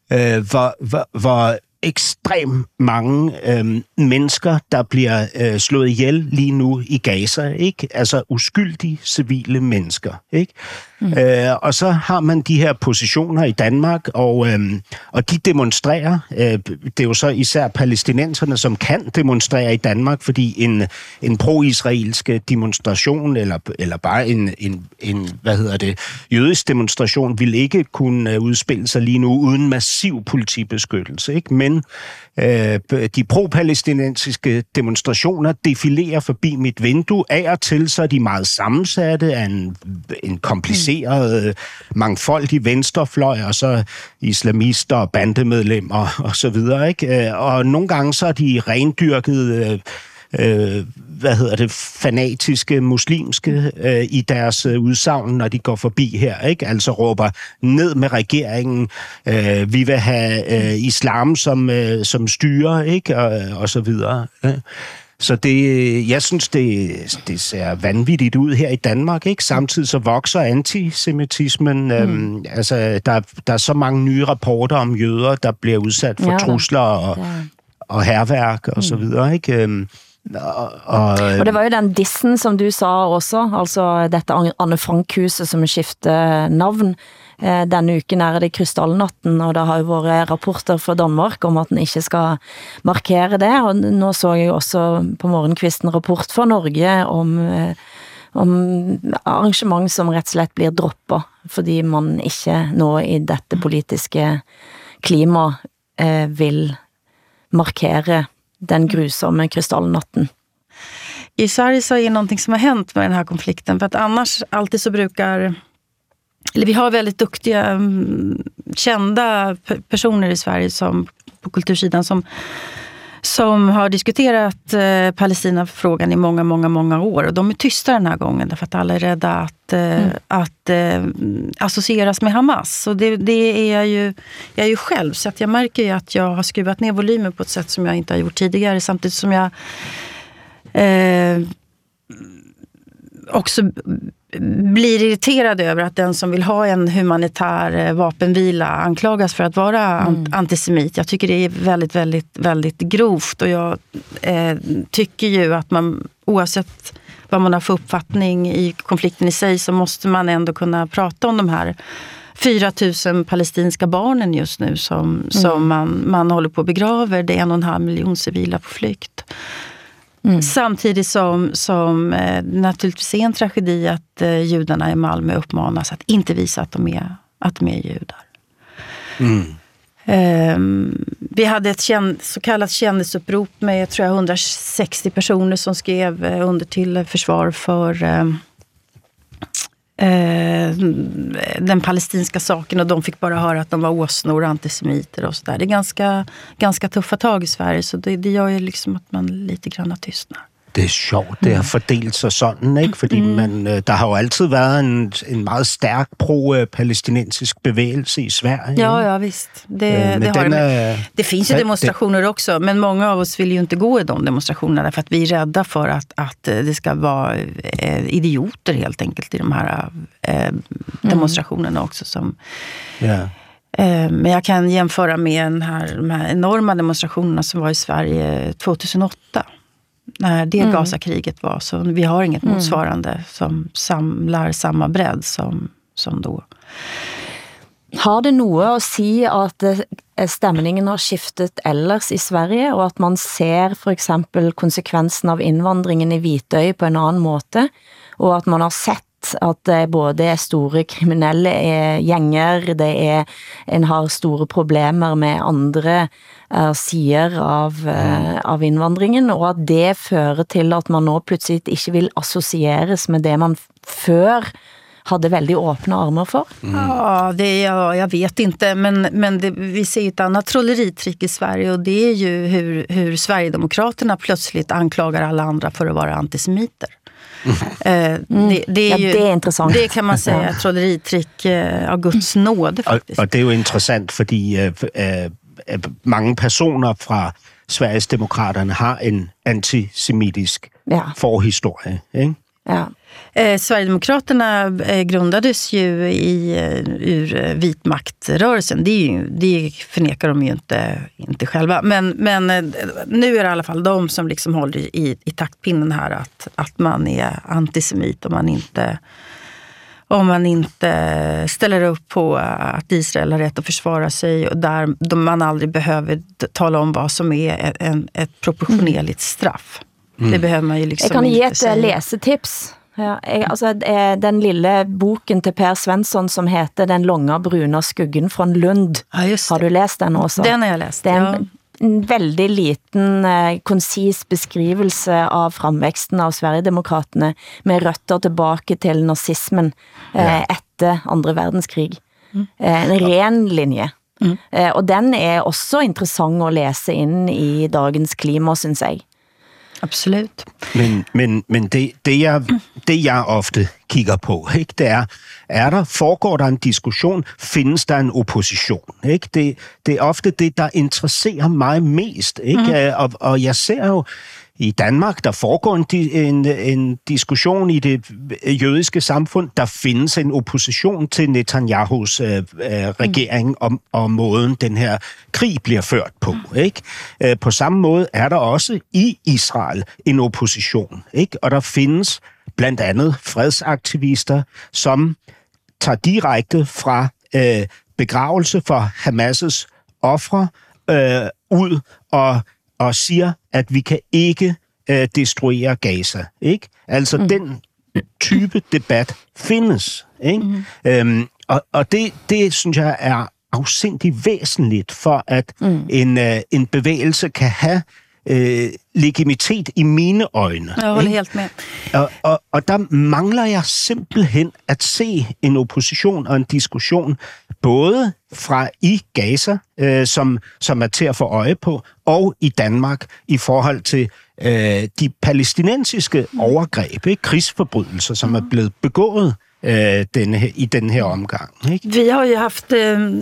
hvor ekstremt mange mennesker, der bliver slået ihjel lige nu i Gaza, ikke? Altså uskyldige civile mennesker, ikke? Og så har man de her positioner i Danmark, og de demonstrerer. Det er jo så især palæstinenserne, som kan demonstrere i Danmark, fordi en pro-israelsk demonstration, eller bare en jødisk demonstration, vil ikke kunne udspille sig lige nu uden massiv politibeskyttelse, ikke? Men de pro-palæstinensiske demonstrationer defilerer forbi mit vindue. Af og til, så er de meget sammensatte af en kompliceret, mangfoldig venstrefløj, og så islamister og bandemedlemmer og så videre, ikke? Og nogle gange så er de rendyrket fanatiske muslimske i deres udsagn, når de går forbi her, ikke? Altså råber ned med regeringen, vi vil have islam som styre, ikke? Og så videre. Så jeg synes, det ser vanvittigt ud her i Danmark, ikke? Samtidig så vokser antisemitismen. Altså, der er så mange nye rapporter om jøder, der bliver udsat for trusler og hærværk og så videre, ikke? Og det var jo den dissen, som du sa også, altså dette Anne Frank-huset som skifter navn. Denne uken er det Krystalnatten, og der har jo været rapporter fra Danmark om at den ikke skal markere det, og nå så jeg også på morgenkvisten rapport fra Norge om arrangement som rett og slett blir droppet, fordi man ikke nå i dette politiske klima vil markere den grusomme Krystalnatten. I Sverige så är det någonting som har hänt med den här konflikten, för att annars alltid så brukar, eller vi har väldigt duktiga kända personer i Sverige som på kultursidan som har diskuterat Palestina-frågan i många år, och de är tysta den här gången därför att alla är rädda att associeras med Hamas, och det är jag är ju själv, så att jag märker ju att jag har skruvat ner volymen på ett sätt som jag inte har gjort tidigare, samtidigt som jag också blir irriterad över att den som vill ha en humanitär vapenvila anklagas för att vara antisemit. Jag tycker det är väldigt, väldigt, väldigt grovt, och jag tycker ju att man, oavsett vad man har för uppfattning i konflikten i sig, så måste man ändå kunna prata om de här 4 000 palestinska barnen just nu som man håller på att begraver. Det är 1,5 miljon civila på flykt. Samtidigt som naturligtvis är en tragedi att judarna i Malmö uppmanas att inte visa att de är judar. Vi hade ett så kallat kändisupprop med, tror jag, 160 personer som skrev under till försvar för den palestinska saken och de fick bara höra att de var åsnor och antisemiter och sådär. Det är ganska tuffa tag i Sverige, så det gör ju liksom att man lite grann tystnar. Det er sjovt, det har fordelt sig sådan, ikke? Fordi der har jo altid været en meget stærk pro-palæstinensisk bevægelse i Sverige. Ja, visst. Det finns ju demonstrationer också, men många av oss vill ju inte gå i de demonstrationerna för att vi är rädda för att det ska vara idioter helt enkelt i de här demonstrationerna också. Men jag kan jämföra med de här enorma demonstrationerna som var i Sverige 2008. När det Gaza-kriget var, så vi har inget motsvarande som samlar samma bredd som då. Har det noget at sige, at stemningen har skiftet ellers i Sverige, og at man ser for eksempel konsekvensen av indvandringen i Vitøy på en anden måde, og at man har sett at det både er store kriminelle gænger, en har store problemer med andre sider av indvandringen, og at det fører til at man nå pludselig ikke vil associeres med det man før hade väldigt öppna armar för. Ja, jag vet inte, men vi ser ett annat trolleritrick i Sverige, och det är ju hur Sverigedemokraterna plötsligt anklagar alla andra för att vara antisemiter. Det är intressant. Det kan man säga är trolleritrick av Guds nåde faktiskt. Og det er jo interessant, fordi mange personer fra Sverigesdemokraterne har en antisemitisk forhistorie, ikke? Ja. Sverigedemokraterna grundades ju ur vitmaktrörelsen. Det förnekar de ju inte själva. Men nu är det i alla fall de som liksom håller i taktpinnen här att man är antisemit om man inte ställer upp på att Israel har rätt att försvara sig, och där man aldrig behöver tala om vad som är ett proportionerligt straff. Det behöver man ju liksom inte. Jag kan ge säga. ett läsetips. Den lille boken til Per Svensson som heter Den långa bruna skuggen från Lund. Ja, just det. Har du läst den också? Den har jag läst. Det är en väldigt liten, koncis beskrivelse av framväxten av Sverigedemokraterna med røtter tilbake til nazismen efter andra världskrig. En ren linje. Og den er også interessant at læse ind i dagens klima, synes jeg. Absolut. Men det jeg ofte kigger på, ikke, det foregår der en diskussion, findes der en opposition, ikke? Det er ofte det, der interesserer mig mest, ikke? Og jeg ser jo i Danmark, der foregår en diskussion i det jødiske samfund. Der findes en opposition til Netanyahus regering og måden, den her krig bliver ført på. Ikke? På samme måde er der også i Israel en opposition. Ikke? Og der findes blandt andet fredsaktivister, som tager direkte fra begravelse for Hamas' ofre ud og siger, at vi kan ikke destruere Gaza. Ikke? Altså den type debat findes. Ikke? Og det synes jeg er afsindigt væsentligt for, at en bevægelse kan have legitimitet i mine øjne. Jeg holder helt med. Og der mangler jeg simpelthen at se en opposition og en diskussion, både fra i Gaza, som er til at få øje på, og i Danmark i forhold til de palæstinensiske overgreb, ikke? Krigsforbrydelser, som er blevet begået i den her omgang. Ikke? Vi har ju haft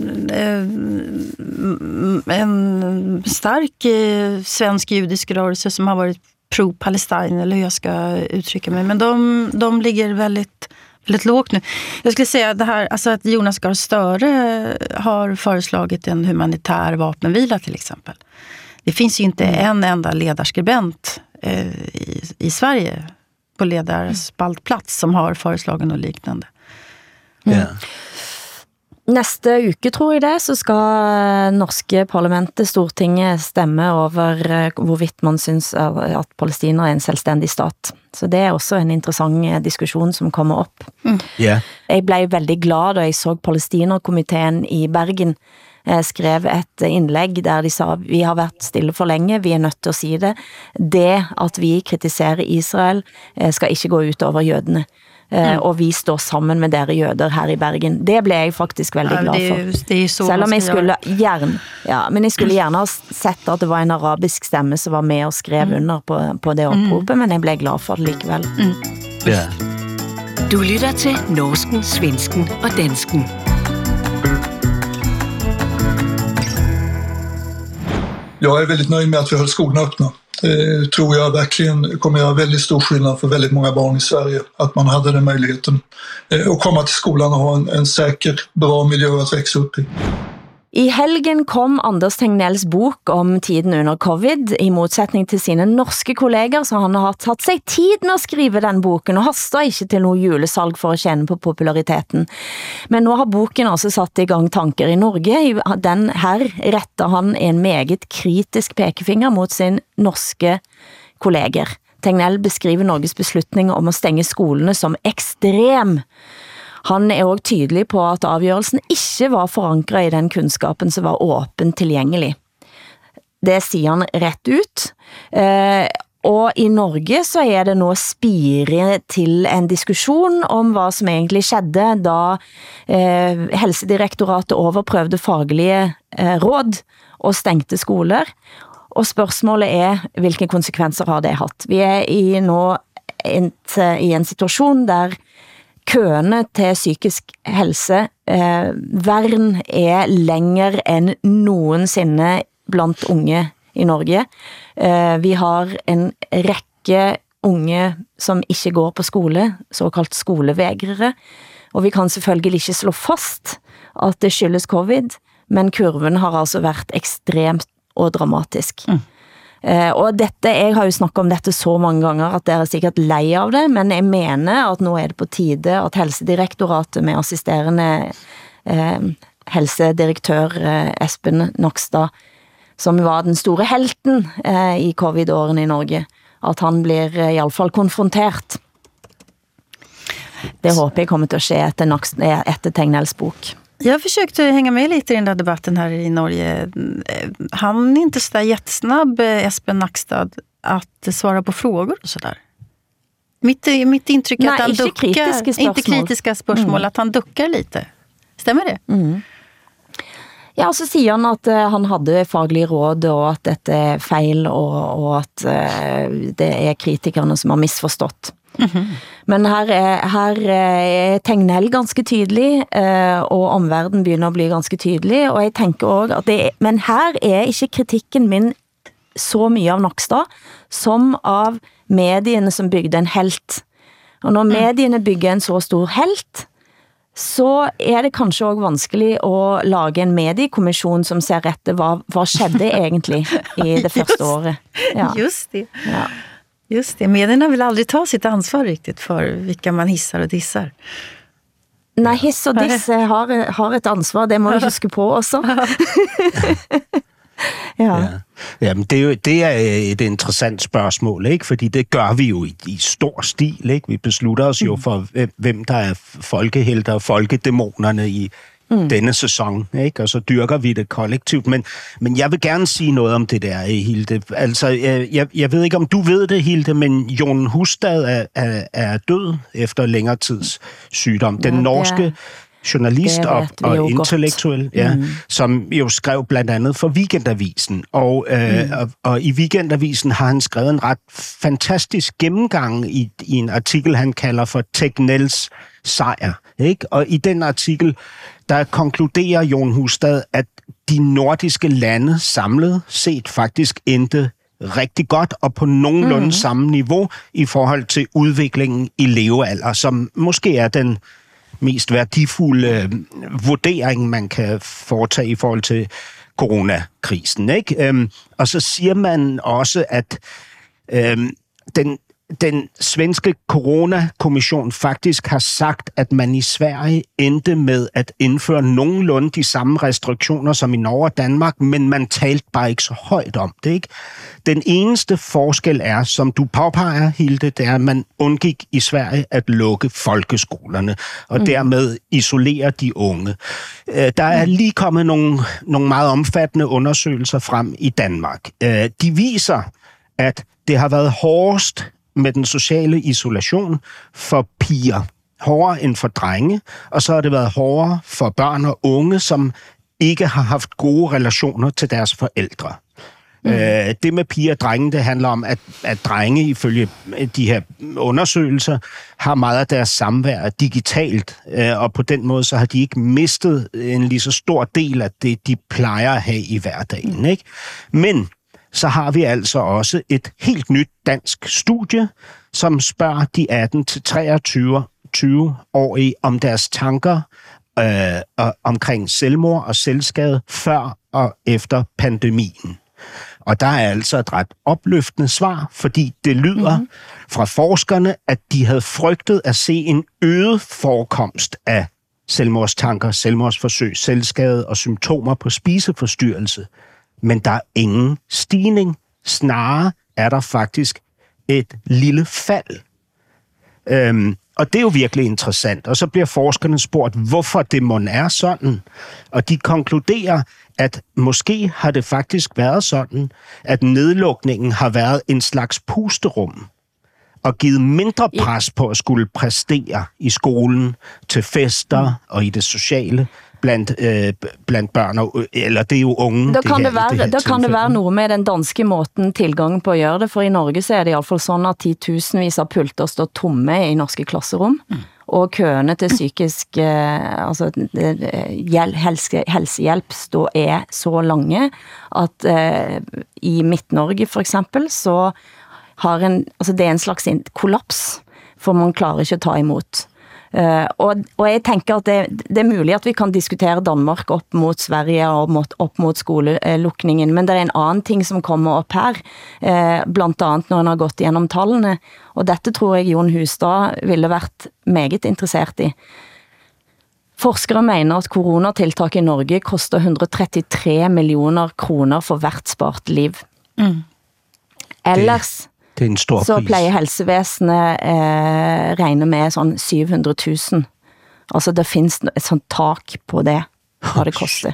en stark svensk judisk rörelse som har varit pro-Palestina, eller hur jag ska uttrycka mig. Men de ligger väldigt lågt nu. Jag skulle säga det här, alltså att Jonas Gahr Støre har föreslagit en humanitär vapenvila till exempel. Det finns ju inte en enda ledarskribent i Sverige på ledarspaltplats som har föreslaget något liknande. Næste uke, tror jeg det, så skal norske parlamentet, Stortinget, stemme over hvorvidt man synes at Palestina er en selvstændig stat. Så det er også en interessant diskussion som kommer op. Jeg blev veldig glad, da jeg så Palestina-komiteen i Bergen skrev et indlæg, der de sa, vi har været stille for længe, vi er nødt til at sige det. Det, at vi kritiserer Israel, skal ikke gå ut over jødene. og vi står sammen med dere jøder her i Bergen. Det ble jeg faktisk veldig glad for. Det er så selv om jeg skulle men jeg skulle gjerne ha sett at det var en arabisk stemme som var med og skrev under på det oppropet, men jeg ble glad for det likevel. Ja. Du lytter til Norsken, Svensken og Dansken. Jag är väldigt nöjd med att vi höll skolorna öppna. Det tror jag verkligen kommer göra väldigt stor skillnad för väldigt många barn i Sverige. Att man hade den möjligheten att komma till skolan och ha en säker, bra miljö att växa upp i. I helgen kom Anders Tegnells bok om tiden under covid, i motsetning til sine norske kolleger, så han har tatt seg tid med å skrive den boken, og haster ikke til noe julesalg for å kjenne på populariteten. Men nå har boken altså satt i gang tanker i Norge. Den her retter han en meget kritisk pekefinger mot sin norske kolleger. Tegnell beskriver Norges beslutning om å stenge skolene som ekstrem. Han er også tydelig på at avgjørelsen ikke var forankret i den kunnskapen som var åpen tilgjengelig. Det sier han rett ut. Og i Norge så er det nå spire til en diskusjon om hva som egentlig skjedde da Helsedirektoratet overprøvde faglige råd og stengte skoler. Og spørsmålet er, hvilke konsekvenser har det hatt? Vi er nå i en situasjon der køene til psykisk helse vern er lenger enn noensinne blant unge i Norge. Vi har en rekke unge som ikke går på skole, såkalt skolevegrere, og vi kan selvfølgelig ikke slå fast at det skyldes covid, men kurven har altså vært ekstremt og dramatisk. Og dette, jeg har jo snakket om dette så mange ganger at dere er sikkert lei av det, men jeg mener at nå er det på tide at Helsedirektoratet med assisterende helsedirektør Espen Nakstad, som var den store helten i covid-årene i Norge, at han blir i alle fall konfrontert. Det håper jeg kommer til å skje etter Tegnells bok. Jag försökte hänga med lite i den där debatten här i Norge. Han är inte så där jättesnabb, Espen Nakstad, att svara på frågor och sådär. Mitt intryck är att han duckar, inte kritiska spörsmål, att han duckar lite. Stämmer det? Ja, så sier han at han hadde faglige råd, og at dette er feil, og at det er kritikerne som har misforstått. Men her er Tegnell ganske tydelig, og omverdenen begynner å bli ganske tydelig, og jeg tenker også at men her er ikke kritikken min så mye av Nakstad, som av mediene som bygde en helt. Og når mediene bygger en så stor helt, så er det kanskje også vanskelig å lage en mediekommission som ser etter hva skjedde egentlig i det første året. Ja. Just det. Ja. Just det, medierna vill aldrig ta sitt ansvar riktigt för vilka man hissar och dissar. Nej, hiss och diss har ett ansvar, det må vi huske på også. Ja, men det er et interessant spørgsmål, ikke? Fordi det gør vi jo i stor stil, ikke? Vi beslutter os jo for, hvem der er folkehelter og folkedæmonerne i denne sæson, ikke? Og så dyrker vi det kollektivt. Men jeg vil gerne sige noget om det der, Hilde. Altså, jeg ved ikke, om du ved det, Hilde, men Jon Hustad er død efter længere tids sygdom. Den norske journalist og intellektuel, som jo skrev blandt andet for Weekendavisen. Og i Weekendavisen har han skrevet en ret fantastisk gennemgang i en artikel, han kalder for Tegnells sejr. Ikke? Og i den artikel, der konkluderer Jon Hustad, at de nordiske lande samlet set faktisk endte rigtig godt og på nogenlunde samme niveau i forhold til udviklingen i levealder, som måske er den mest værdifulde vurdering, man kan foretage i forhold til coronakrisen. Ikke? Og så siger man også, at den svenske coronakommission faktisk har sagt, at man i Sverige endte med at indføre nogenlunde de samme restriktioner som i Norge og Danmark, men man talte bare ikke så højt om det. Ikke? Den eneste forskel er, som du påpeger, Hilde, det er, at man undgik i Sverige at lukke folkeskolerne og dermed isolere de unge. Der er lige kommet nogle meget omfattende undersøgelser frem i Danmark. De viser, at det har været hårdest med den sociale isolation for piger. hårdere end for drenge, og så har det været hårdere for børn og unge, som ikke har haft gode relationer til deres forældre. Det med piger og drenge, det handler om, at drenge, ifølge de her undersøgelser, har meget af deres samvær digitalt, og på den måde så har de ikke mistet en lige så stor del af det, de plejer at have i hverdagen. Ikke? Men så har vi altså også et helt nyt dansk studie, som spørger de 18-23-årige om deres tanker omkring selvmord og selvskade før og efter pandemien. Og der er altså et ret opløftende svar, fordi det lyder fra forskerne, at de havde frygtet at se en øget forekomst af selvmordstanker, selvmordsforsøg, selvskade og symptomer på spiseforstyrrelse. Men der er ingen stigning. Snarere er der faktisk et lille fald. Og det er jo virkelig interessant. Og så bliver forskerne spurgt, hvorfor det mon er sådan. Og de konkluderer, at måske har det faktisk været sådan, at nedlukningen har været en slags pusterum og givet mindre pres på at skulle præstere i skolen, til fester og i det sociale blandt børn, eller det er jo unge. Da kan det være noget med den danske måten tilgang på at gøre det, for i Norge så er det i hvert fall sådan, at 10.000 av pulter står tomme i norske klasserum, og køene til psykisk helsehjælp er så lange, at i Midt-Norge for eksempel, så har det er en slags kollaps, for man klarer ikke at ta imot. Og jeg tænker at det er muligt at vi kan diskutere Danmark op mot Sverige og op mot skolelukningen, men det er en anden ting som kommer op her, blandt andet når han har gått igennem tallene, og dette tror jeg Jon Hustad ville vært meget interessert i. Forskere mener at coronatiltak i Norge koster 133 millioner kroner for hvert spart liv. Ellers så plejer helsevæsenet regne med sådan 700.000. Altså der findes et sånt tak på det, hvad det koster.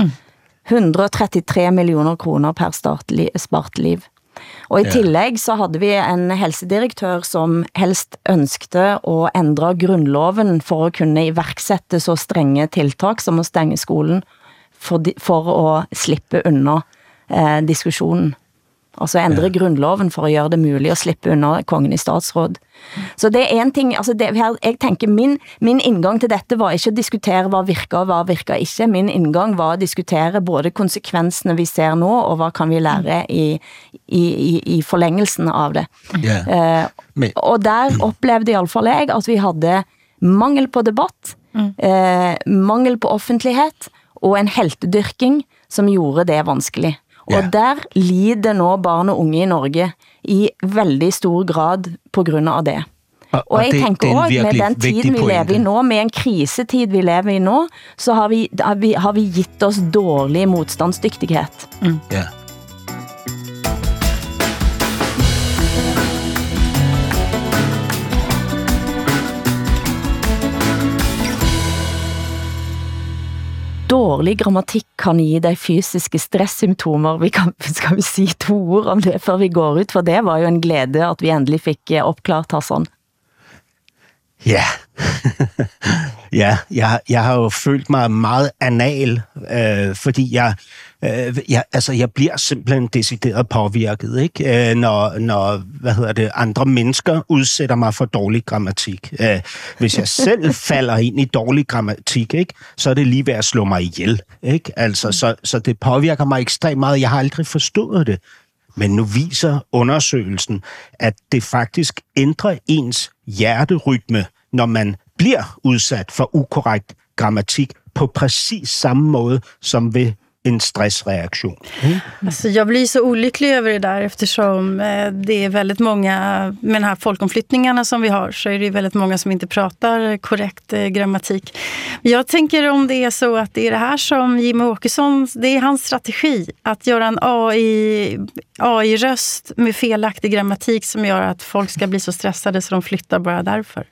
133 millioner kroner per spart liv. Og i tillæg så havde vi en helsedirektør, som helst ønskede at ændre grundloven for at kunne iværksætte så strenge tiltak som at stænge skolen for at slippe under diskussionen. Altså ændre grundloven for at gøre det muligt at slippe under kongen i statsråd. Så det er en ting, altså jeg tænker, min indgang til dette var ikke at diskutere hvad virker og hvad virker ikke. Min indgang var at diskutere både konsekvenserne vi ser nu, og hvad kan vi lære i forlængelsen av det. Og der oplevede i alle fall jeg, at vi havde mangel på debatt, mangel på offentlighed, og en heltedyrking, som gjorde det vanskeligt. Og der lider nå barn og unge i Norge i veldig stor grad på grund av det. Og jeg tænker også, med den tiden vi lever i nå, med en krisetid vi lever i nå, så har vi gitt oss dårlig modstandsdygtighed. Ja. Dårlig grammatik kan give dig fysiske stresssymptomer. Skal vi si 2 ord om det, før vi går ut? For det var jo en glæde, at vi endelig fik opklart Hassan. Ja. Jeg har jo følt mig meget anal, fordi jeg bliver simpelthen decideret påvirket, ikke? Når andre mennesker udsætter mig for dårlig grammatik. Hvis jeg selv falder ind i dårlig grammatik, ikke, så er det lige ved at slå mig ihjel, ikke? Altså, så det påvirker mig ekstremt meget. Jeg har aldrig forstået det. Men nu viser undersøgelsen, at det faktisk ændrer ens hjerterytme, når man bliver udsat for ukorrekt grammatik på præcis samme måde som ved en stressreaktion. Alltså, jag blir så olycklig över det där eftersom det är väldigt många, med de här folkomflyttningarna som vi har, så är det väldigt många som inte pratar korrekt grammatik. Jag tänker om det är så att det är det här som Jimmie Åkesson, det är hans strategi, att göra en AI-röst med felaktig grammatik som gör att folk ska bli så stressade så de flyttar bara därför.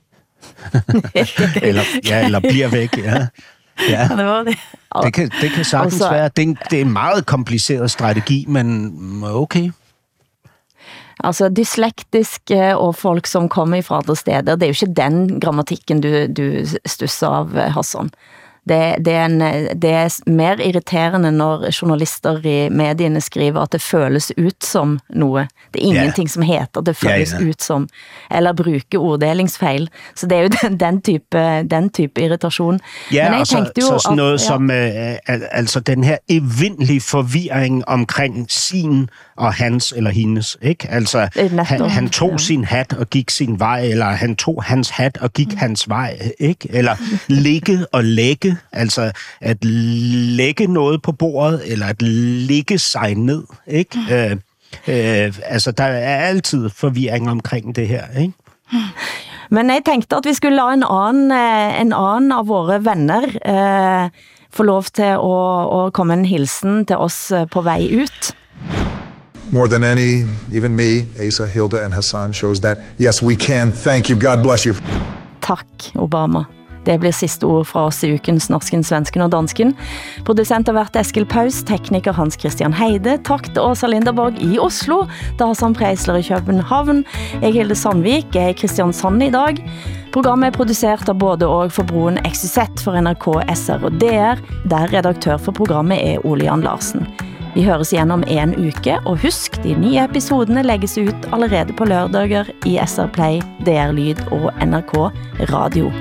eller bliver væk, ja. Ja, det var det. Det kan sagtens være. Det er en meget kompliceret strategi, men okay. Altså dyslektiske og folk som kommer fra andre steder, det er jo ikke den grammatikken du stusser av, Hassan. Det er mer irriterende når journalister i medierne skriver at det føles ut som noe. Det er ingenting som heter det føles ut som, eller bruker orddelingsfejl. Så det er jo den type irritation. Ja, men jeg tenkte jo så sådan noget som altså den her evindelige forvirring omkring sin og hans eller hendes, ikke? Altså han tog sin hat og gik sin vej, eller han tog hans hat og gik hans vej, ikke? Eller ligge og lægge, altså at lægge noget på bordet, eller at ligge sig ned, ikke? Altså der er altid forvirring omkring det her, ikke? Men jeg tænkte, at vi skulle lade en anden af våre venner få lov til at komme en hilsen til os på vej ud. More than any, even me, Asa, Hilda and Hassan shows that, yes, we can. Thank you. God bless you. Tak, Obama. Det blir sidste ord fra oss i ukens Norsken, Svensken og Dansken. Producent har vært Eskil Paus, tekniker Hans Christian Heide. Takk til Åsa Linderborg i Oslo, til Hassan Preisler i København. Jeg Hilde Sandvik, jeg er Kristiansand i dag. Programmet er produceret av både og for broen XYZ for NRK, SR og DR, der redaktør for programmet er Ole Jan Larsen. Vi høres igjen om en uke, og husk, de nye episodene legges ut allerede på lørdager i SR Play, DR Lyd og NRK Radio.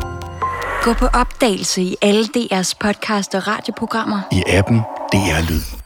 Gå på opdagelse i alle DR's podcast og radioprogrammer. I appen DR Lyd.